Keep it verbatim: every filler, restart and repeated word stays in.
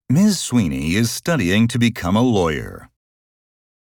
Miz Sweeney is studying to become a lawyer.